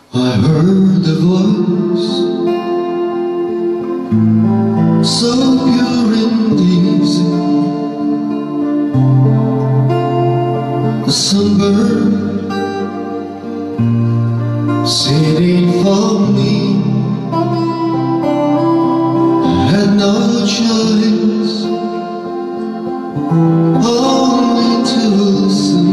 I heard the voice, so pure and easy. The sunbird singing for me. I had no choice, only to listen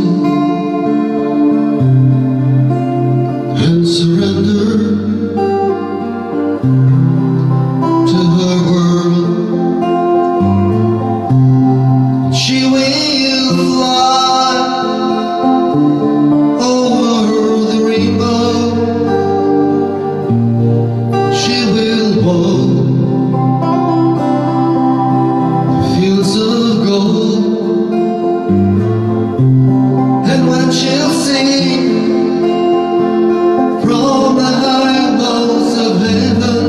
and surrender to her world. She will fly over the rainbow. She will walk the fields of gold, and when she'll sing from the high walls of heaven,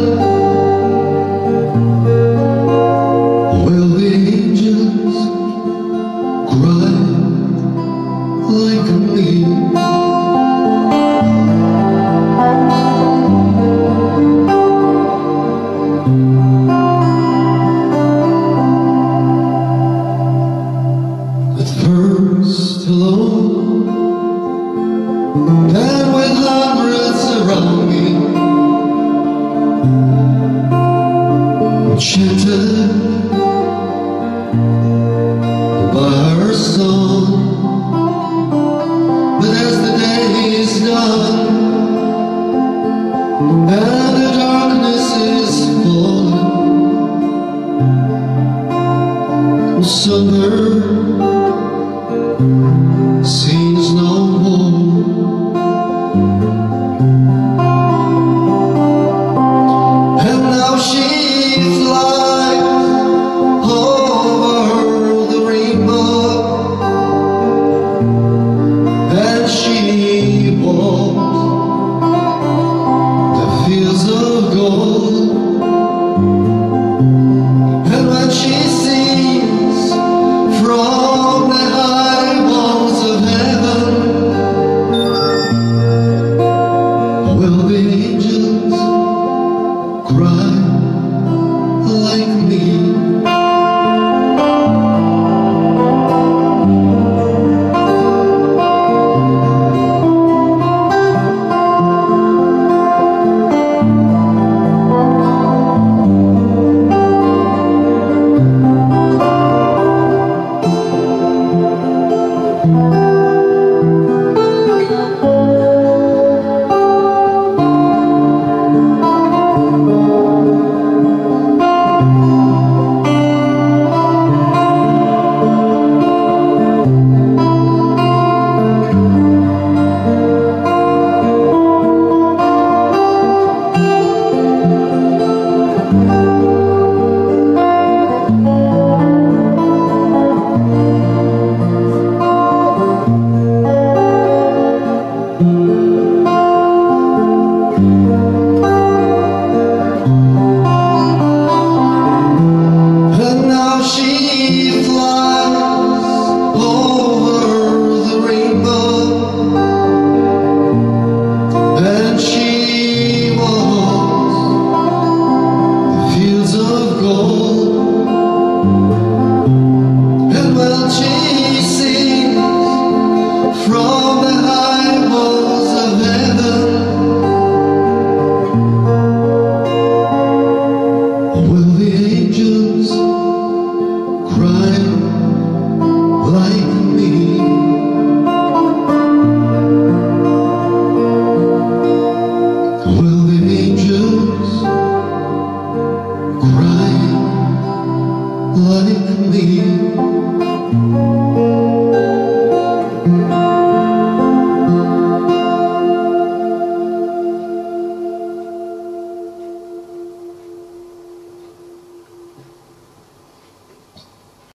will the angels cry like me? At first alone, then with hundreds around me, enchanted by her song. But as the day is done and the darkness is falling, summer seems no more. And now she flies over the rainbow, and she walks the fields of gold. And when she sings from the high walls of heaven, will the angels cry like me? Like me.